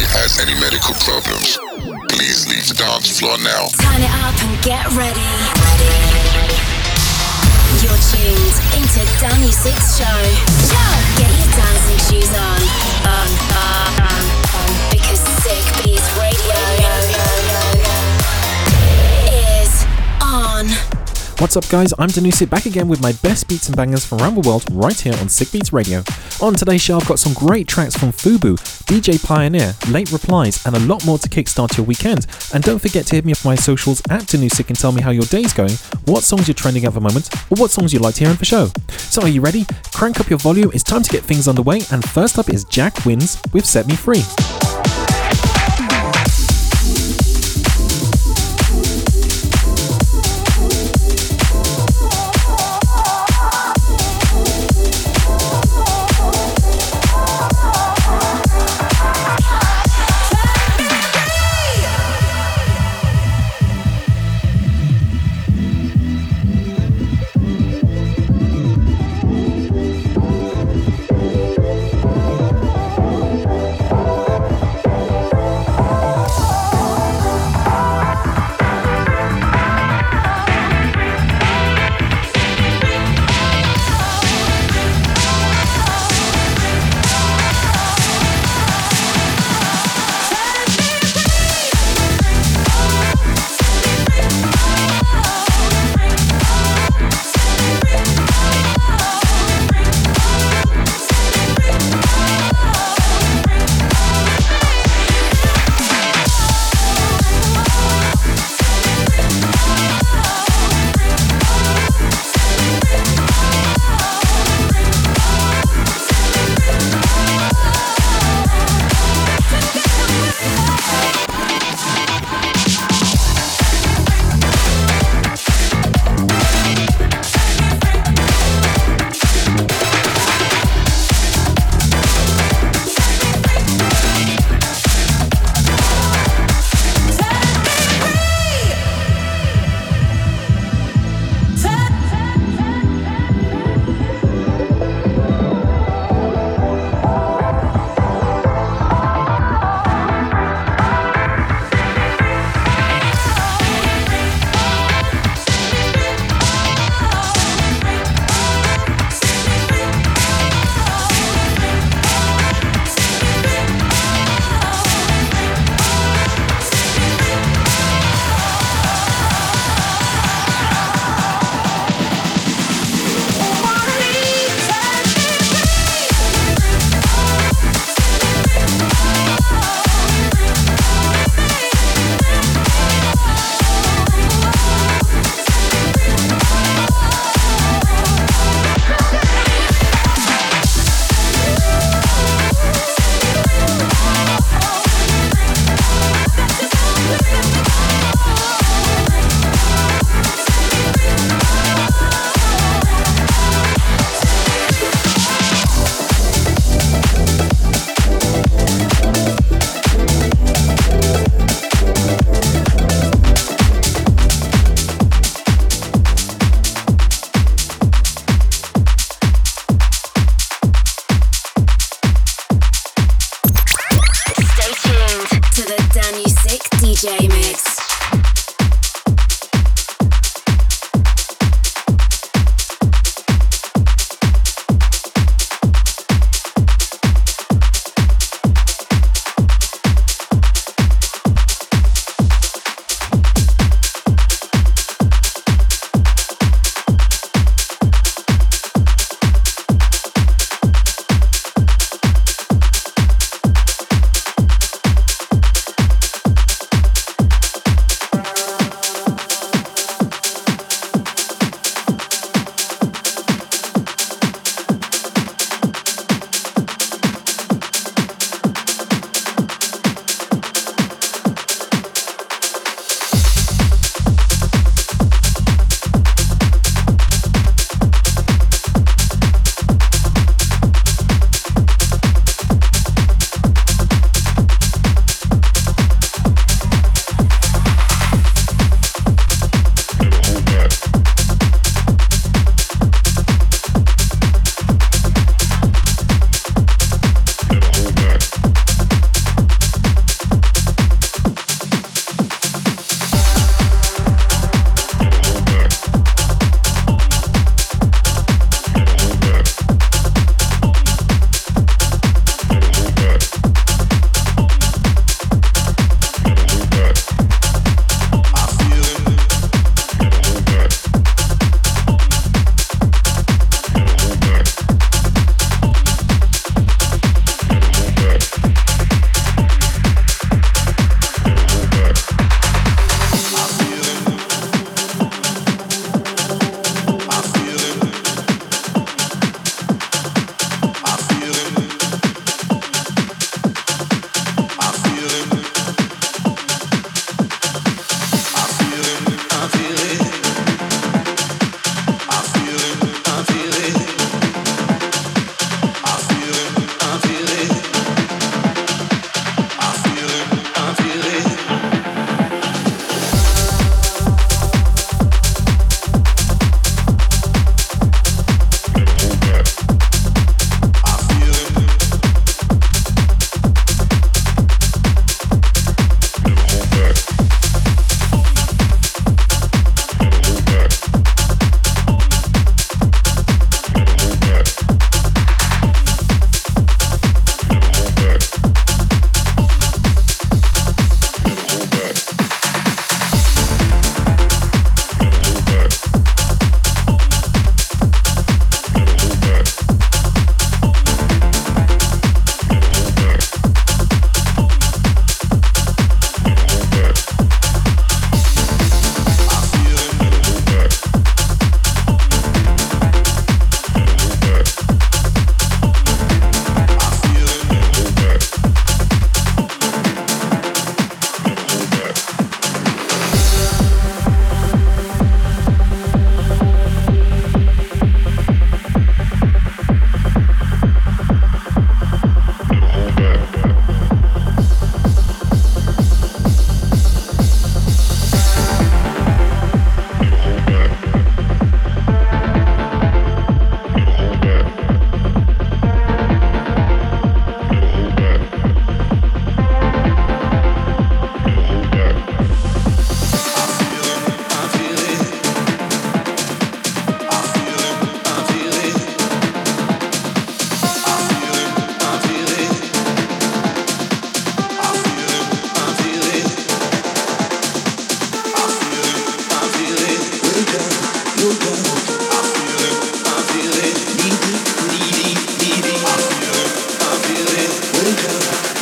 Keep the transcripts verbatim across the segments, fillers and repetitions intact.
has any medical problems, please leave the dance floor now. Turn it up and get ready. ready. You're tuned into Dan Music's show. Get your dancing shoes on. On, on, on, on. Because Sick Beats Radio is on. What's up, guys? I'm Danusic, back again with my best beats and bangers from around the world right here on Sick Beats Radio. On today's show, I've got some great tracks from Fubu, D J Pioneer, Late Replies, and a lot more to kickstart your weekend. And don't forget to hit me up on my socials at Danusic and tell me how your day's going, what songs you're trending at the moment, or what songs you'd like to hear in the show. So are you ready? Crank up your volume, it's time to get things underway, and first up is Jack Wins with Set Me Free.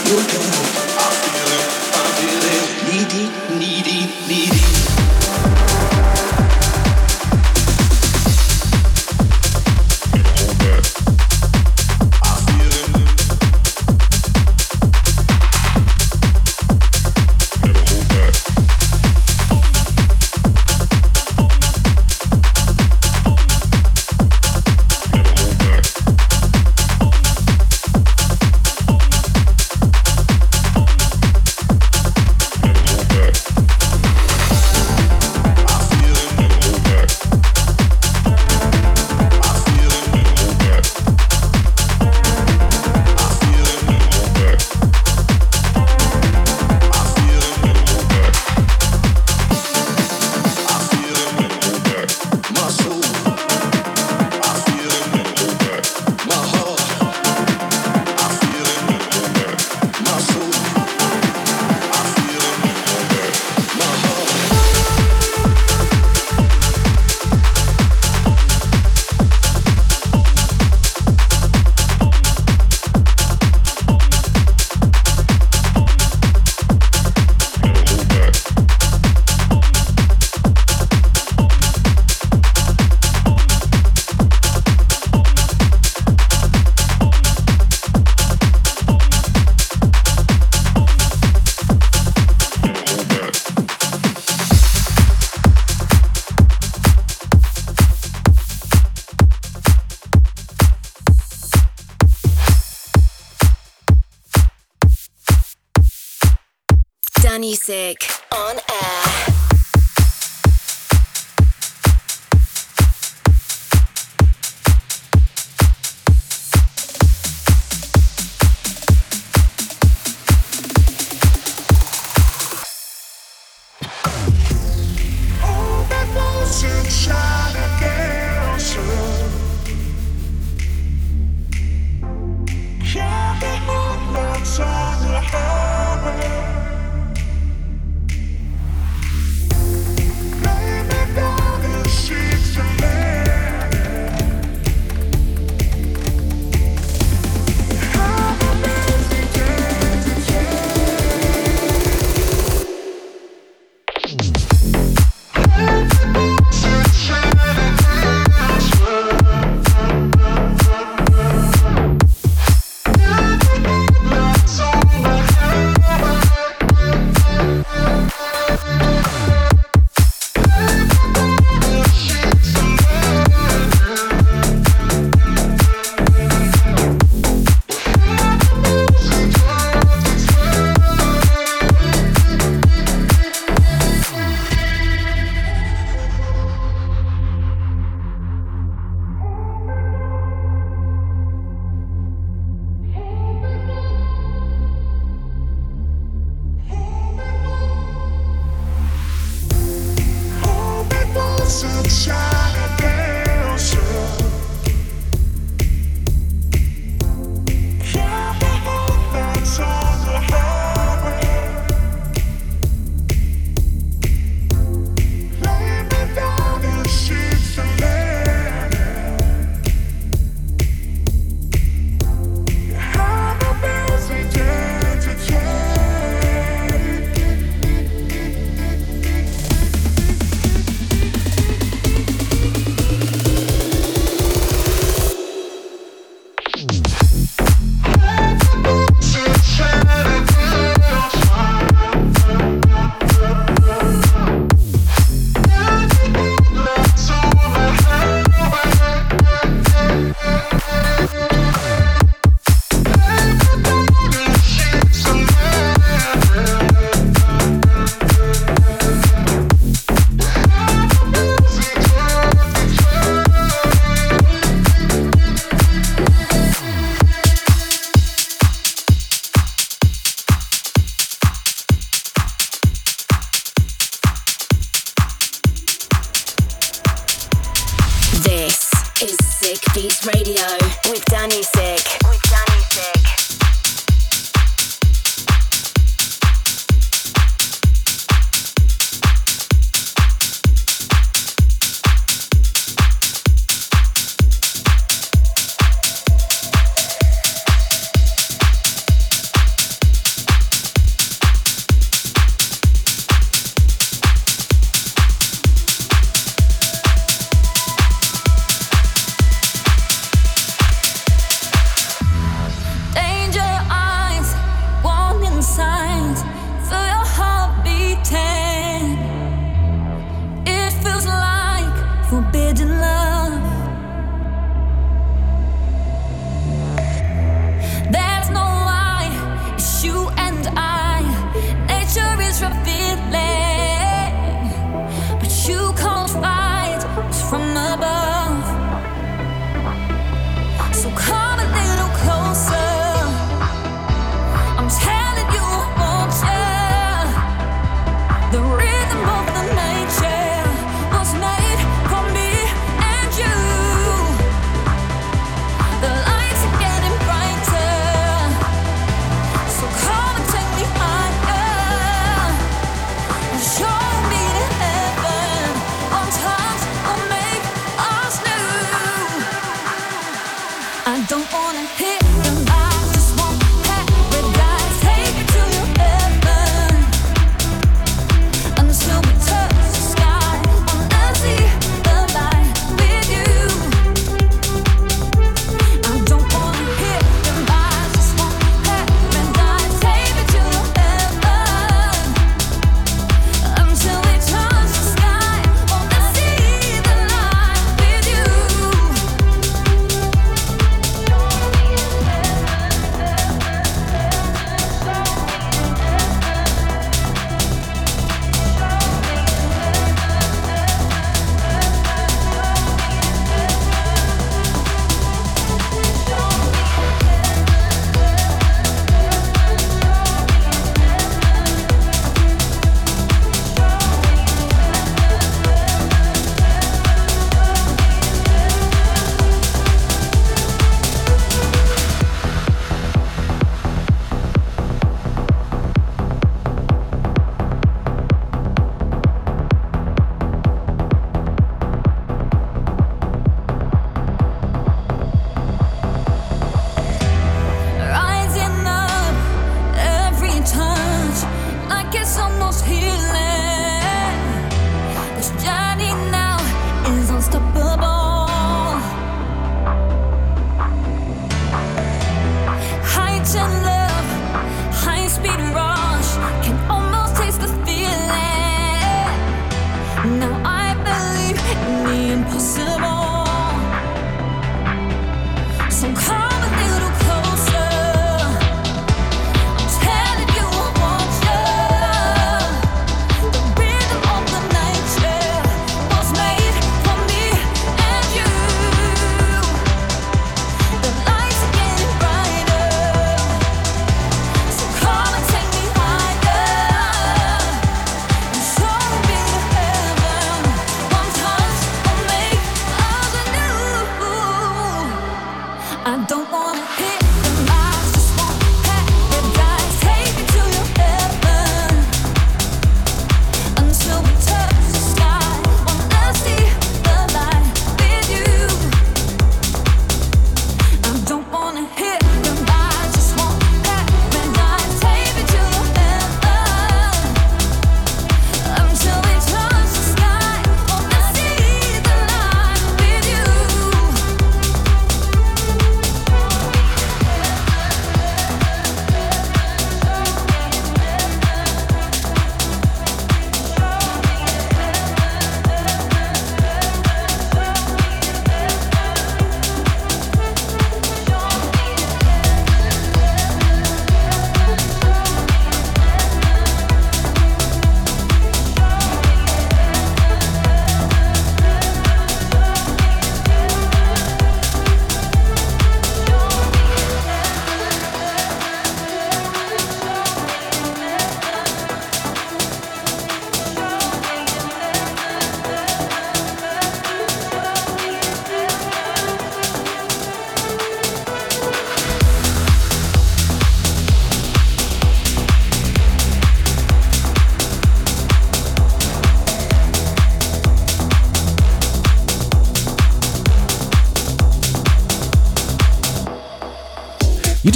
Music on air.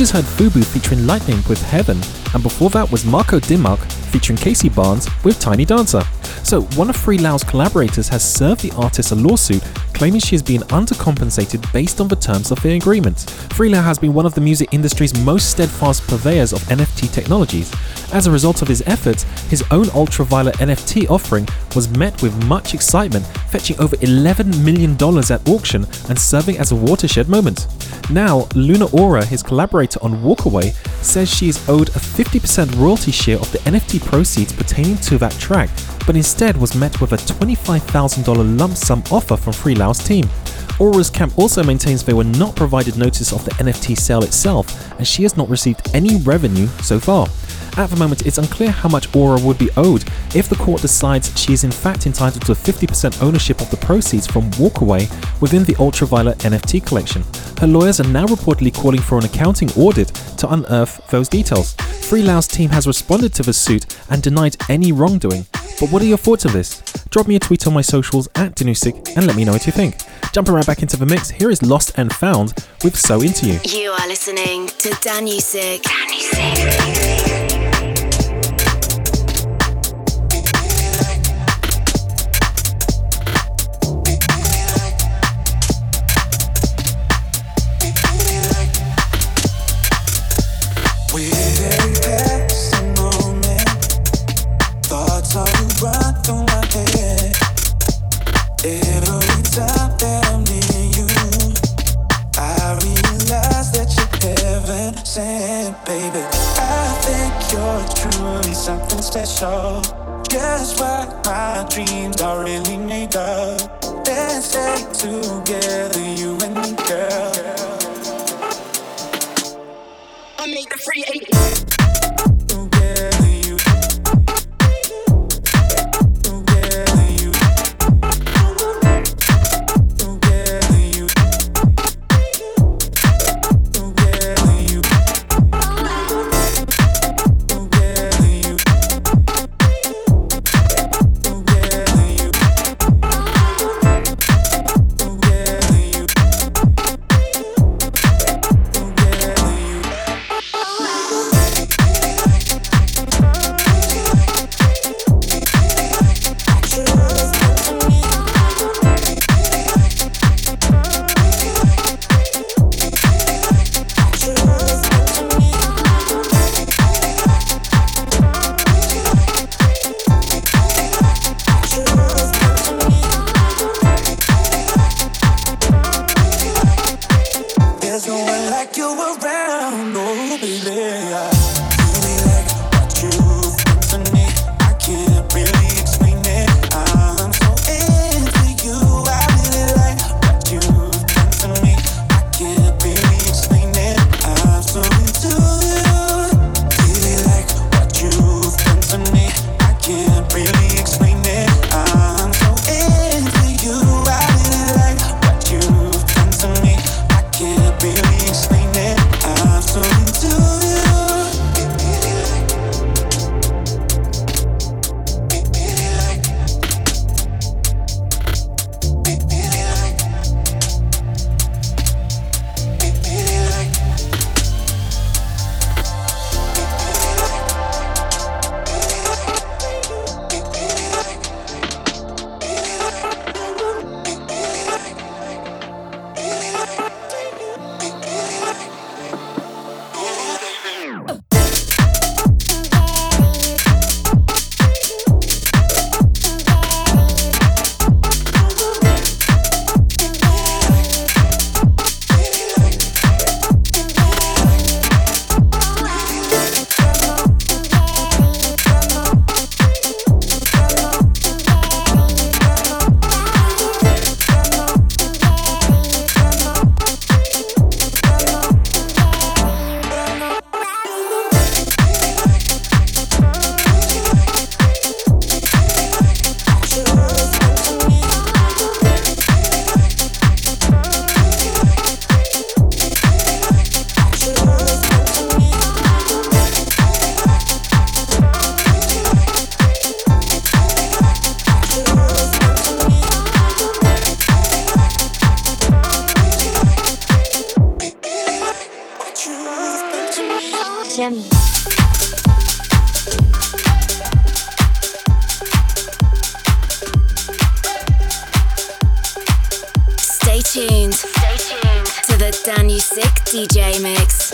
just heard Fubu featuring Lightning with Heaven, and before that was Marco Dimmark featuring Casey Barnes with Tiny Dancer. So, one of Free Lau's collaborators has served the artist a lawsuit claiming she is being undercompensated based on the terms of the agreement. Free Lau has been one of the music industry's most steadfast purveyors of N F T technologies. As a result of his efforts, his own ultraviolet N F T offering was met with much excitement, fetching over eleven million dollars at auction and serving as a watershed moment. Now, Luna Aura, his collaborator on Walkaway, says she is owed a fifty percent royalty share of the N F T proceeds pertaining to that track, but instead was met with a twenty-five thousand dollars lump sum offer from Free Lau's team. Aura's camp also maintains they were not provided notice of the N F T sale itself, and she has not received any revenue so far. At the moment, it's unclear how much Aura would be owed if the court decides she is in fact entitled to fifty percent ownership of the proceeds from Walkaway within the Ultraviolet N F T collection. Her lawyers are now reportedly calling for an accounting audit to unearth those details. Free Lau's team has responded to the suit and denied any wrongdoing. But what are your thoughts of this? Drop me a tweet on my socials at Danusik and let me know what you think. Jumping right back into the mix, here is Lost and Found with So Into You. You are listening to Danusik. Danusik. Special, just what my dreams are really made of. Let's stay together, you and me, girl. I made the free eight. station. Stay tuned. Stay tuned to the Danu Sick D J mix.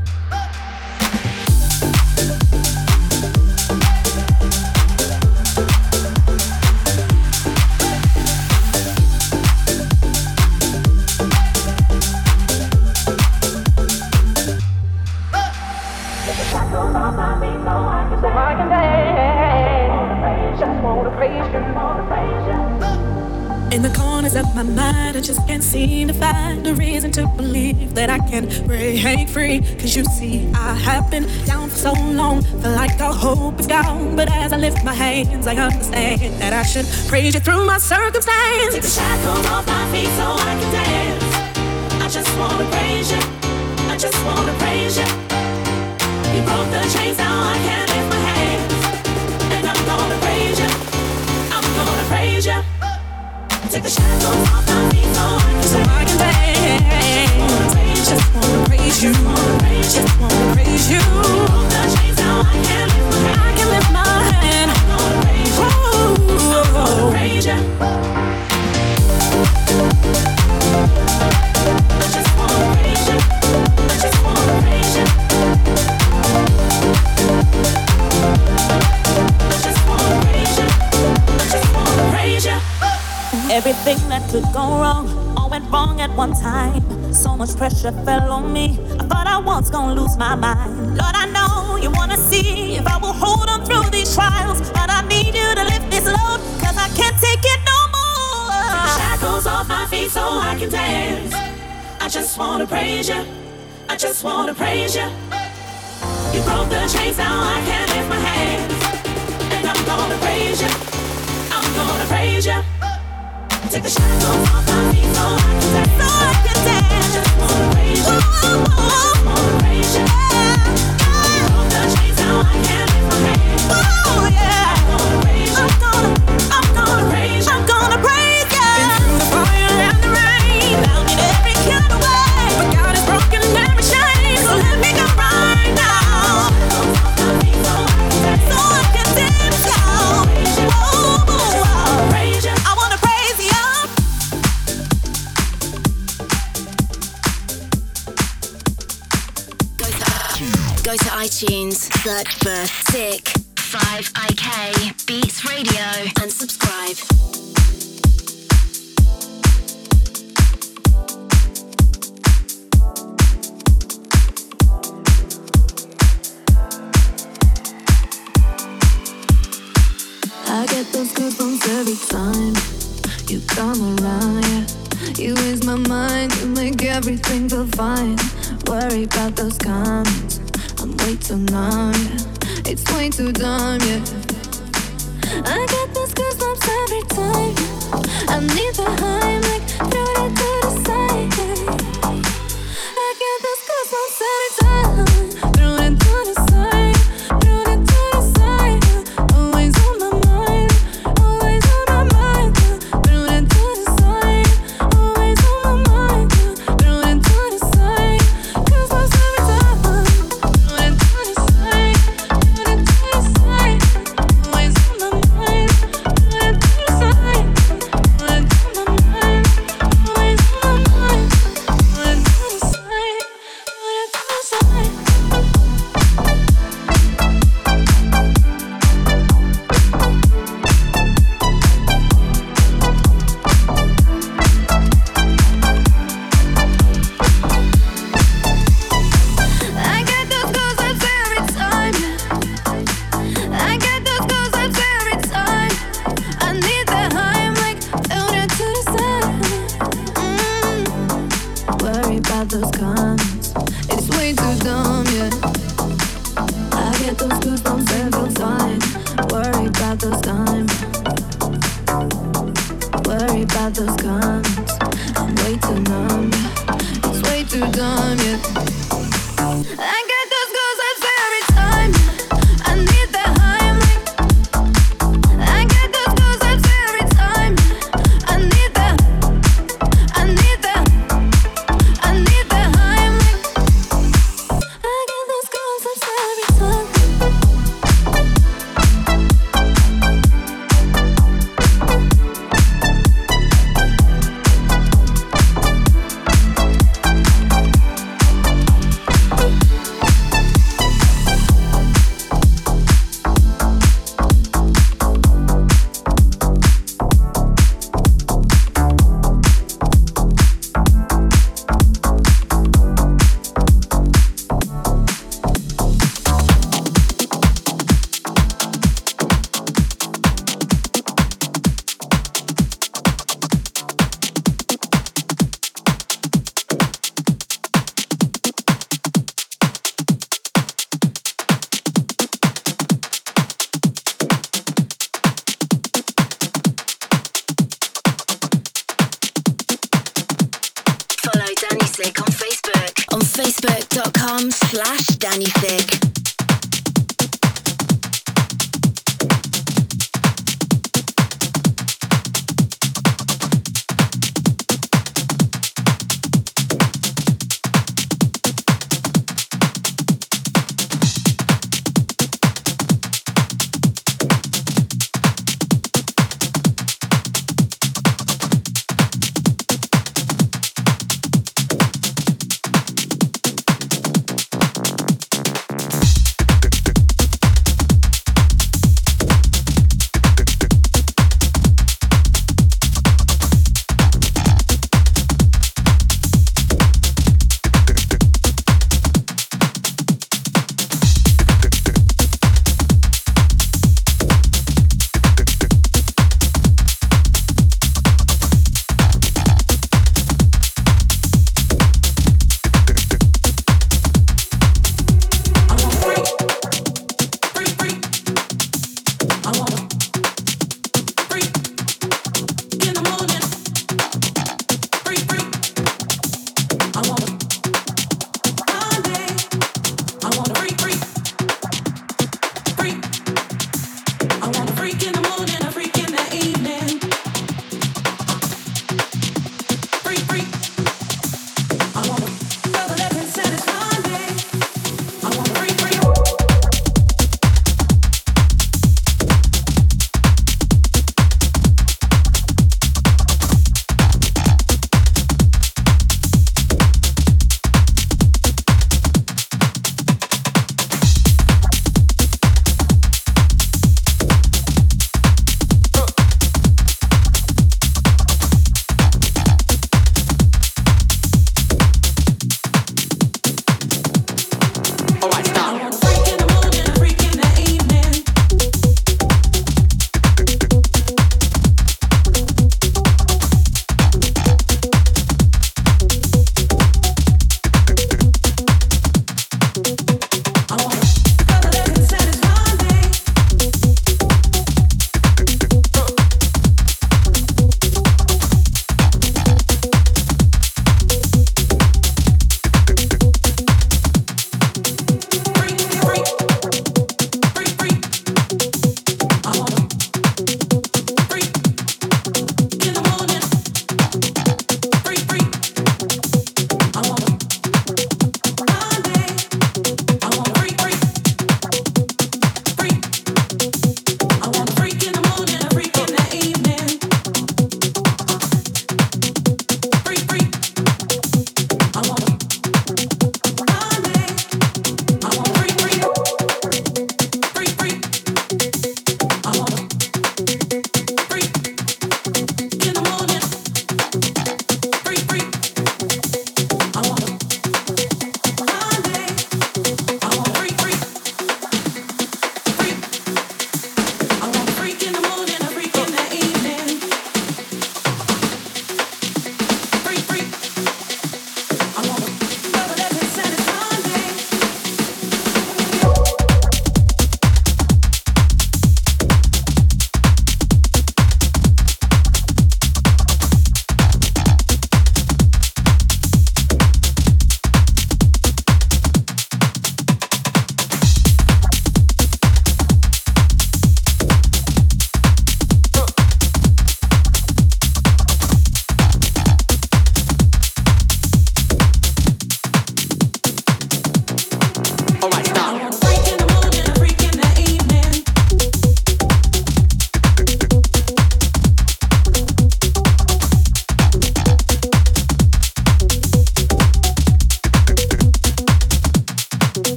In the corners of my mind, I just can't seem to find a reason to believe that I can break free. Cause you see, I have been down for so long, feel like all hope is gone. But as I lift my hands, I understand that I should praise you through my circumstance. Take the shackles off my feet so I can dance. I just wanna praise you, I just wanna praise you. You broke the chains, now I can lift my hands. And I'm gonna praise you, I'm gonna praise you. Take the shackles off my feet so I can, so I can dance. Just wanna praise you, just wanna praise you. Broke the chains, now I can lift my hand. I can lift my hand. I'm gonna praise you, I'm gonna praise you. I just wanna praise you, I just wanna praise you. I just wanna praise you, I just wanna praise you. Everything that could go wrong, all went wrong at one time. So much pressure fell on me, I thought I was gonna lose my mind. Lord, I know you wanna see if I will hold on through these trials, but I need you to lift this load, cause I can't take it no more. Take the shackles off my feet so I can dance. I just wanna praise you, I just wanna praise you. You broke the chains, now I can lift my hands. And I'm gonna praise you, I'm gonna praise you. Take the shackles off my feet so I can dance. So I can dance. I just wanna praise you. I just wanna praise you. You broke the chains, now I can lift my hands. Oh yeah. I'm gonna praise you. I'm gonna, I'm gonna praise you. I'm gonna praise you. Been through the fire and the rain, down in every kind of way, but God has broken every chain, so let me go right now. So I can dance now. Oh, oh, praise you. I wanna praise you. Go to iTunes, search for Sick five I K Beats Radio and subscribe. I get those goosebumps every time you come around, yeah. You ease my mind, you make everything feel fine. Worry about those comments, I'm way too numb, yeah. It's way too dumb, yeah. I get those goosebumps every time I need the high, like throw it to the side, yeah. I get those goosebumps every time, throw it to the side, throw it to the side, yeah. Always on my mind, always on my mind, yeah. Throw it to the side, always on my mind, yeah. Throw it to the side, goosebumps every time. Throw it to the side, throw it to the side, always on my mind. Throw it to the side, throw it to my mind. slash Danny Thick.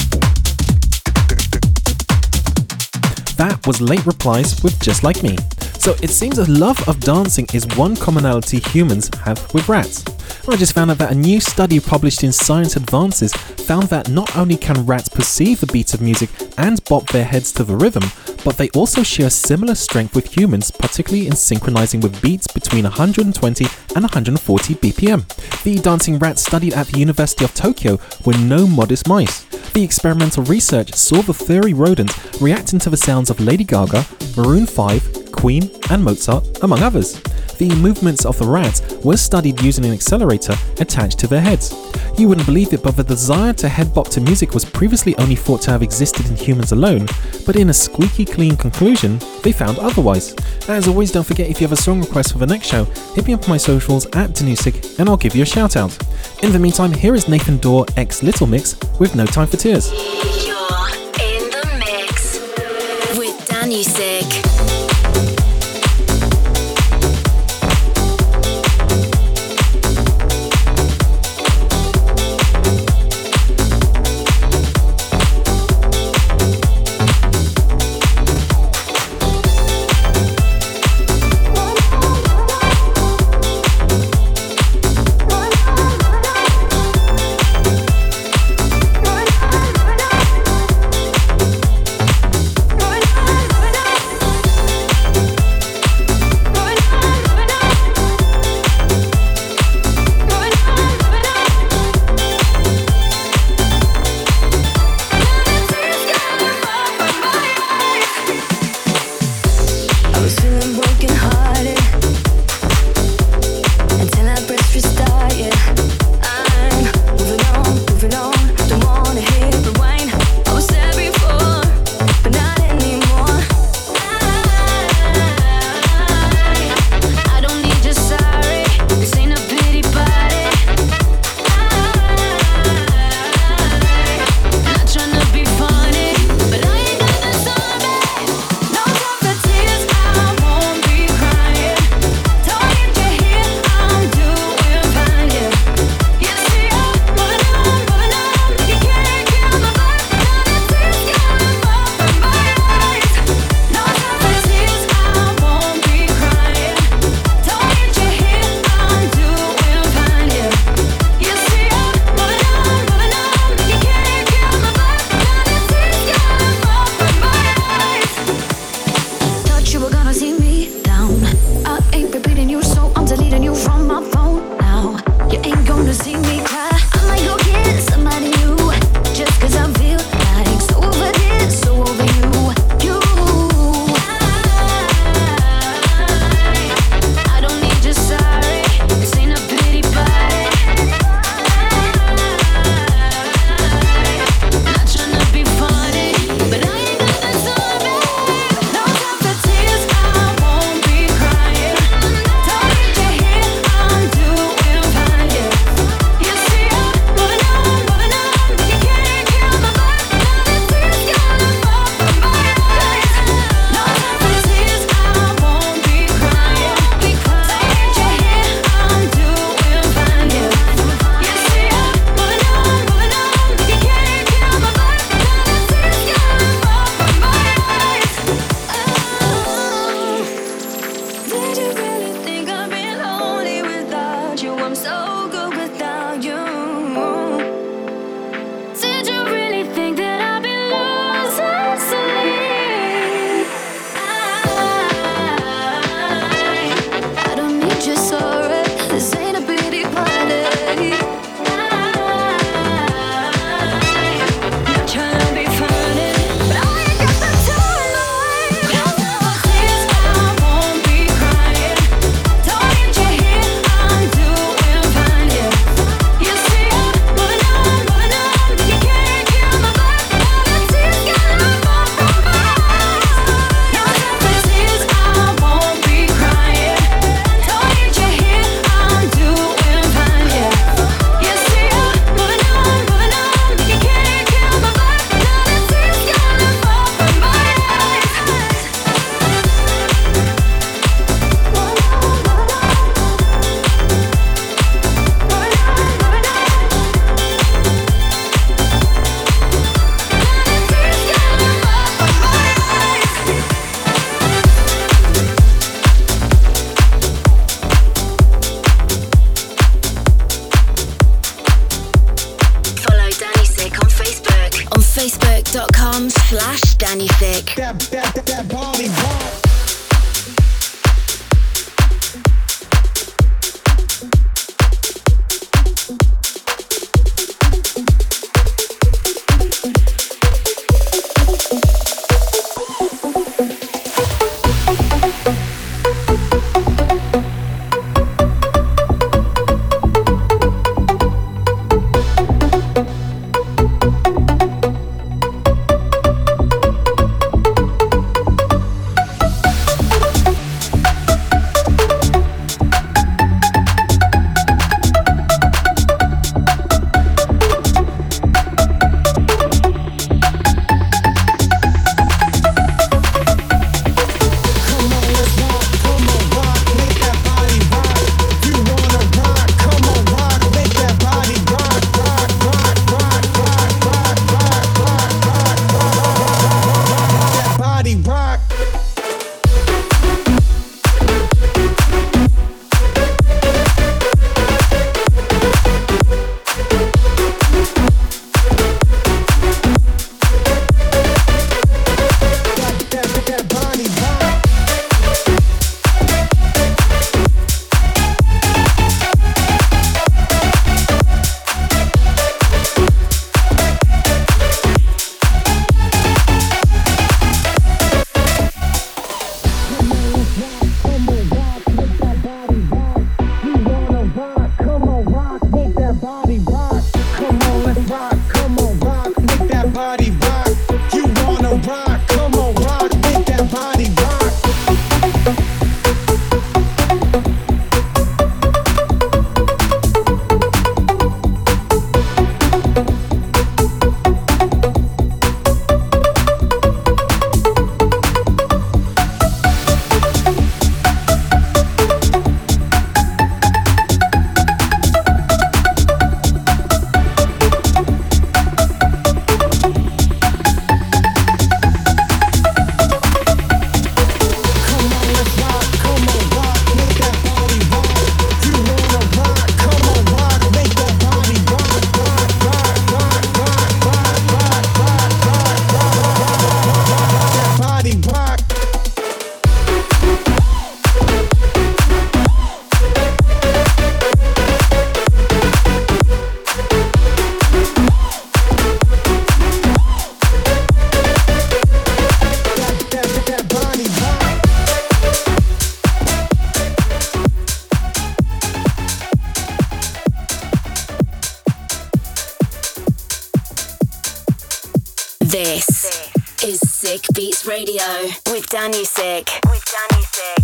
That was Late Replies with Just Like Me. So it seems a love of dancing is one commonality humans have with rats. I just found out that a new study published in Science Advances found that not only can rats perceive the beats of music and bop their heads to the rhythm, but they also share similar strength with humans, particularly in synchronizing with beats between one hundred twenty and one hundred forty B P M. The dancing rats studied at the University of Tokyo were no modest mice. The experimental research saw the furry rodents reacting to the sounds of Lady Gaga, Maroon five, Queen and Mozart, among others. The movements of the rats were studied using an accelerator attached to their heads. You wouldn't believe it, but the desire to head bop to music was previously only thought to have existed in humans alone, but in a squeaky clean conclusion, they found otherwise. As always, don't forget, if you have a song request for the next show, hit me up on my socials at Danusik and I'll give you a shout out. In the meantime, here is Nathan Dawe x Little Mix with No Time for Tears. You're in the mix with Danusik. That, that, that, that body rock. This is Sick Beats Radio with Danny Sick. With Danny Sick.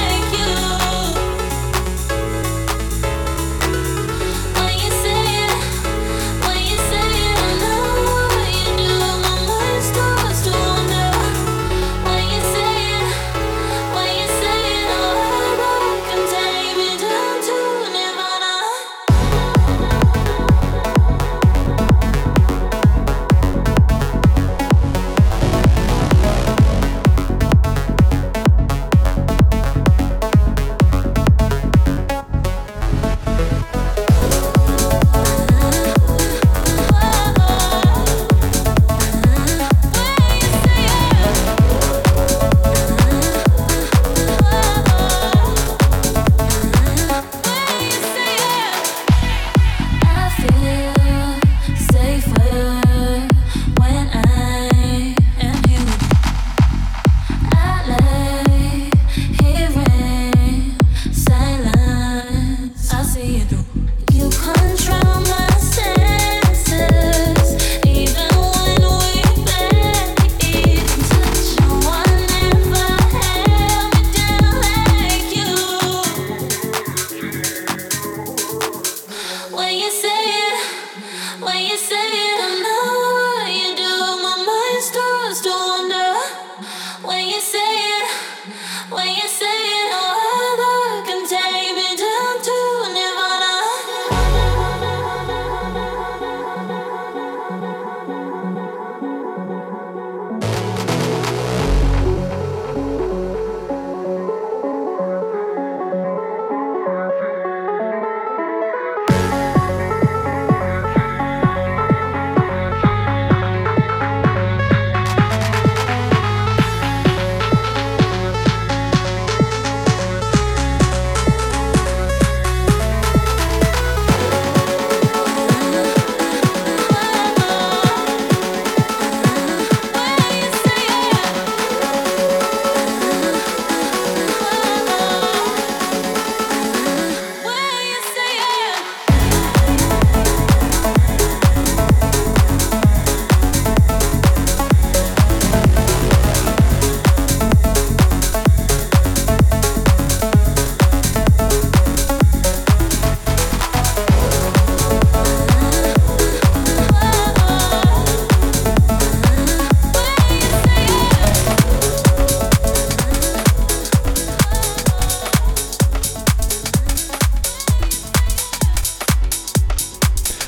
When you say it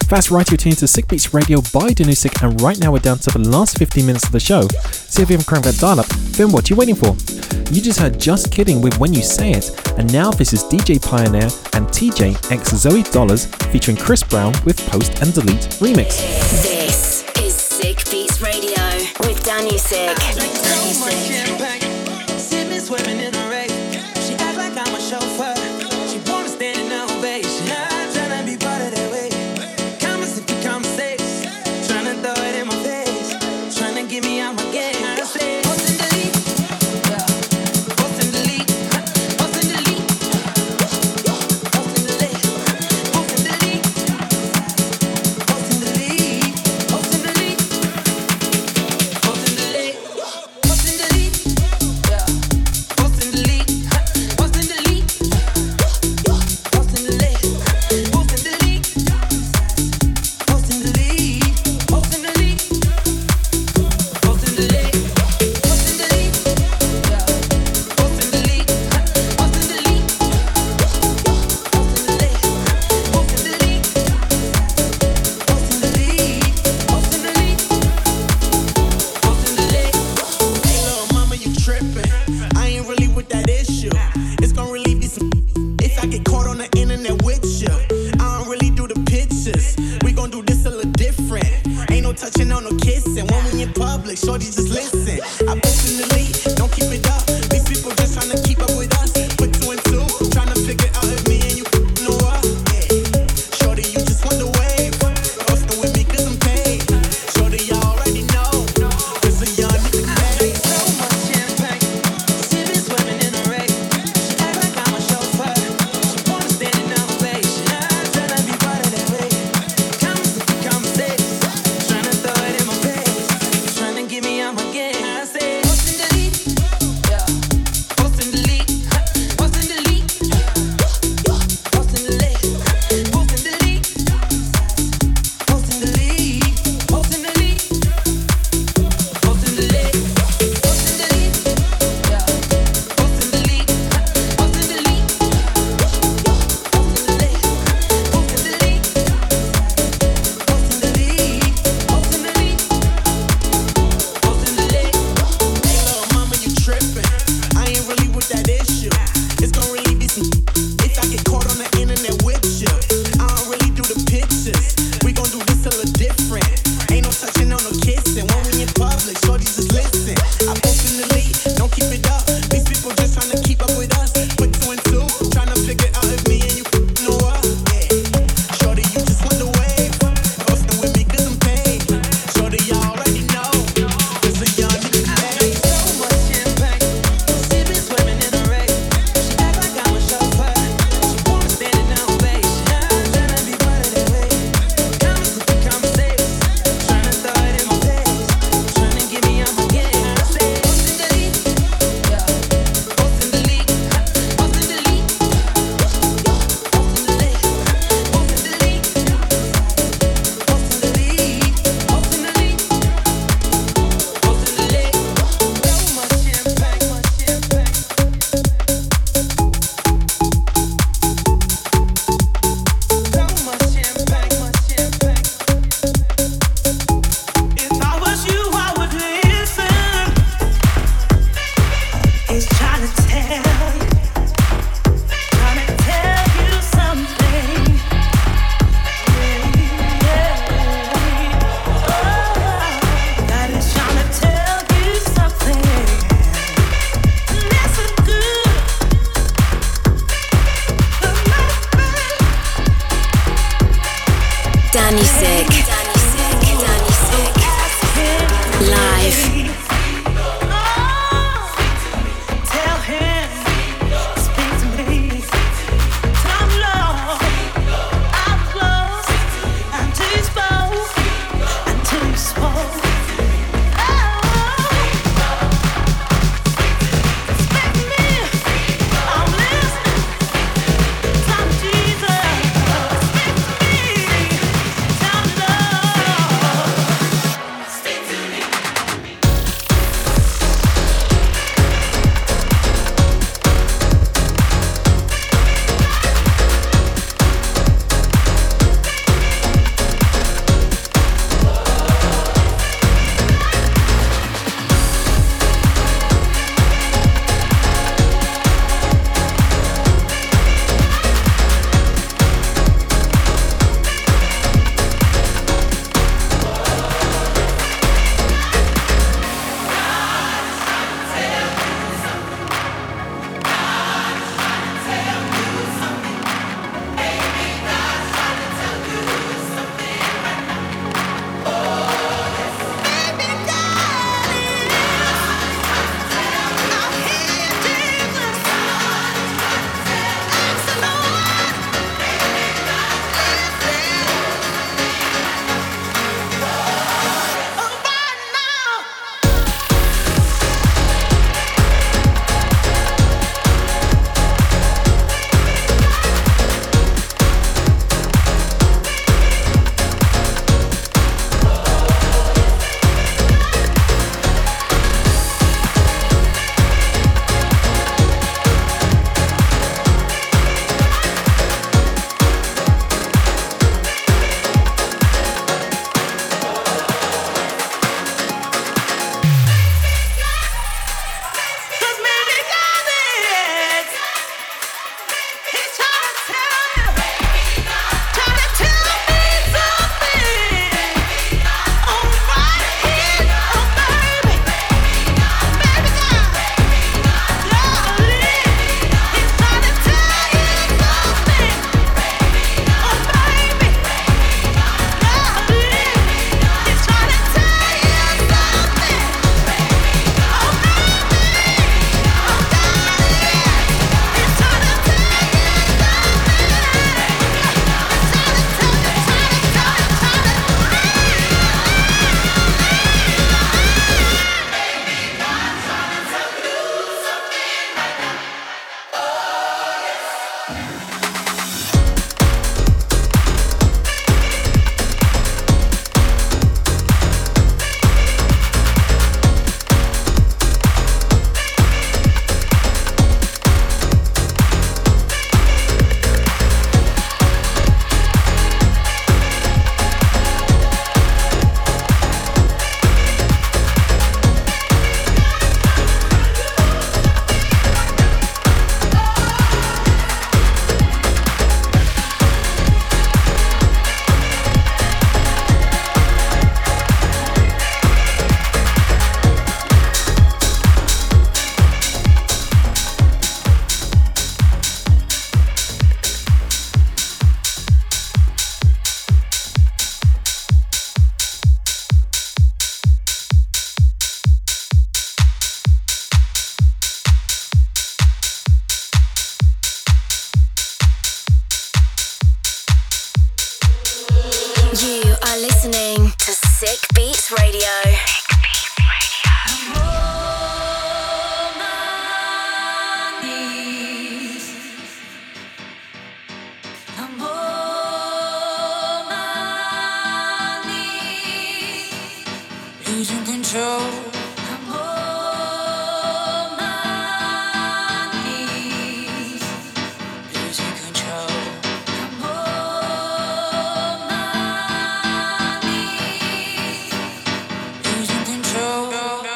That's right, you're tuned to Sick Beats Radio by Danusik, and right now we're down to the last fifteen minutes of the show. So if you haven't cranked that dial up, then what are you waiting for? You just heard Just Kidding with When You Say It, and now this is D J Pioneer and T J x Zoe Dollars featuring Chris Brown with Post and Delete Remix. This is Sick Beats Radio with Danusik. Swimming in a race, she acts like I'm a chauffeur. She wanna stand in ovation. I'm tryna be part of that way. Comments if you conversation, tryna throw it in my face, tryna get me out my game. I say post and delete, yeah. Post and delete, post and delete, post and delete, post and delete, post and delete, post and delete, post and delete, post and delete. Love listening to Sick Beats Radio. Losing control. I'm on my knees. Losing control. I'm on my knees. Losing control.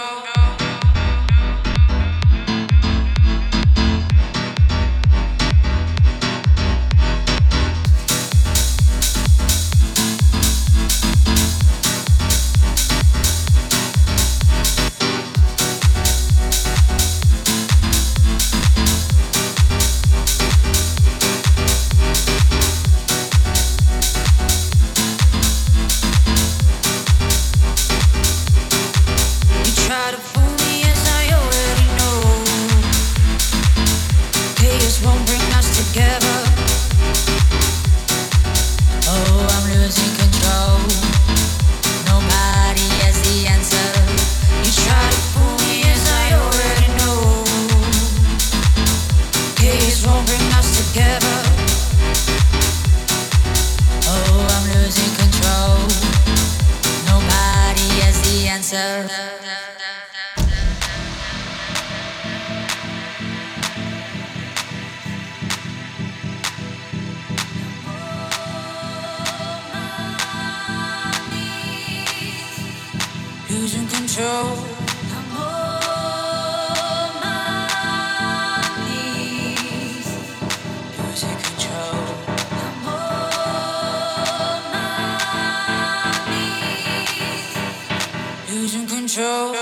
Losing control. I'm on my knees. Losing control. I'm on my knees. Losing control.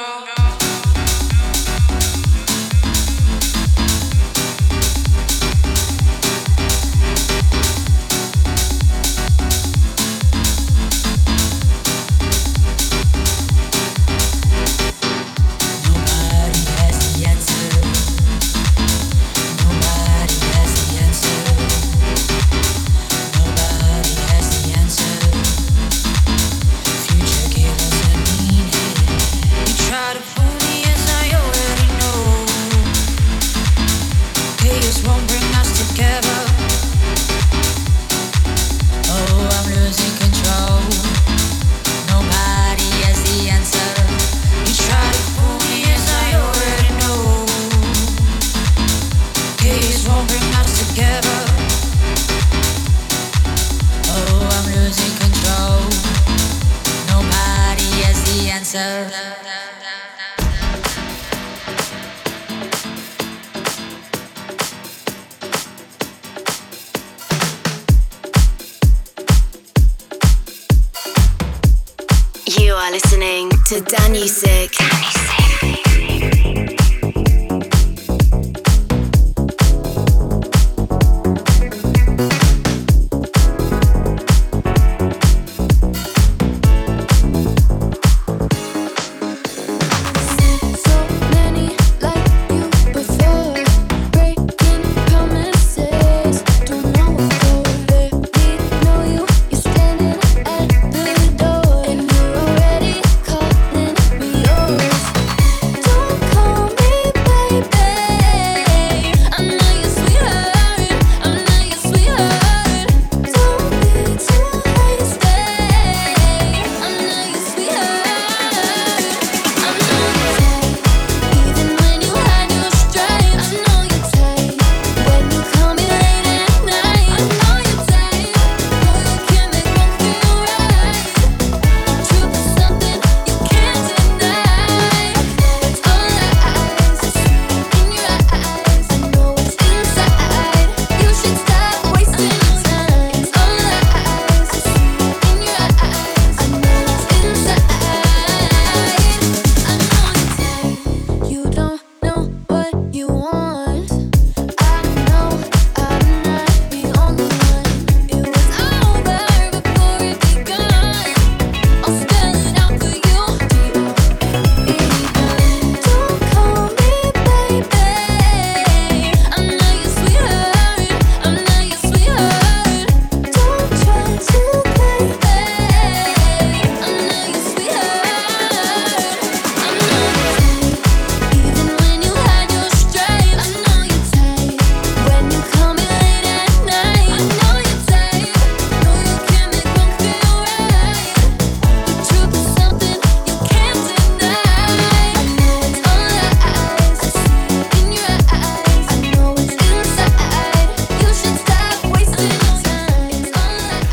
You are listening to Danusik. Standing at the door and you're already calling me yours.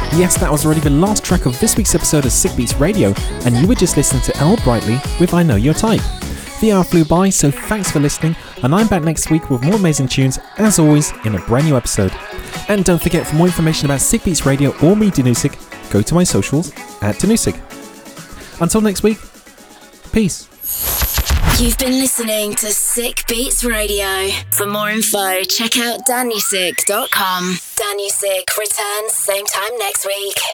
Yes, that was already the last track of this week's episode of Sick Beats Radio, and you were just listening to Elle Brightly with I Know Your Type. The hour flew by, so thanks for listening, and I'm back next week with more amazing tunes, as always, in a brand new episode. And don't forget, for more information about Sick Beats Radio or me, Danusik, go to my socials at Danusik. Until next week, peace. You've been listening to Sick Beats Radio. For more info, check out danusik dot com. Danusik returns same time next week.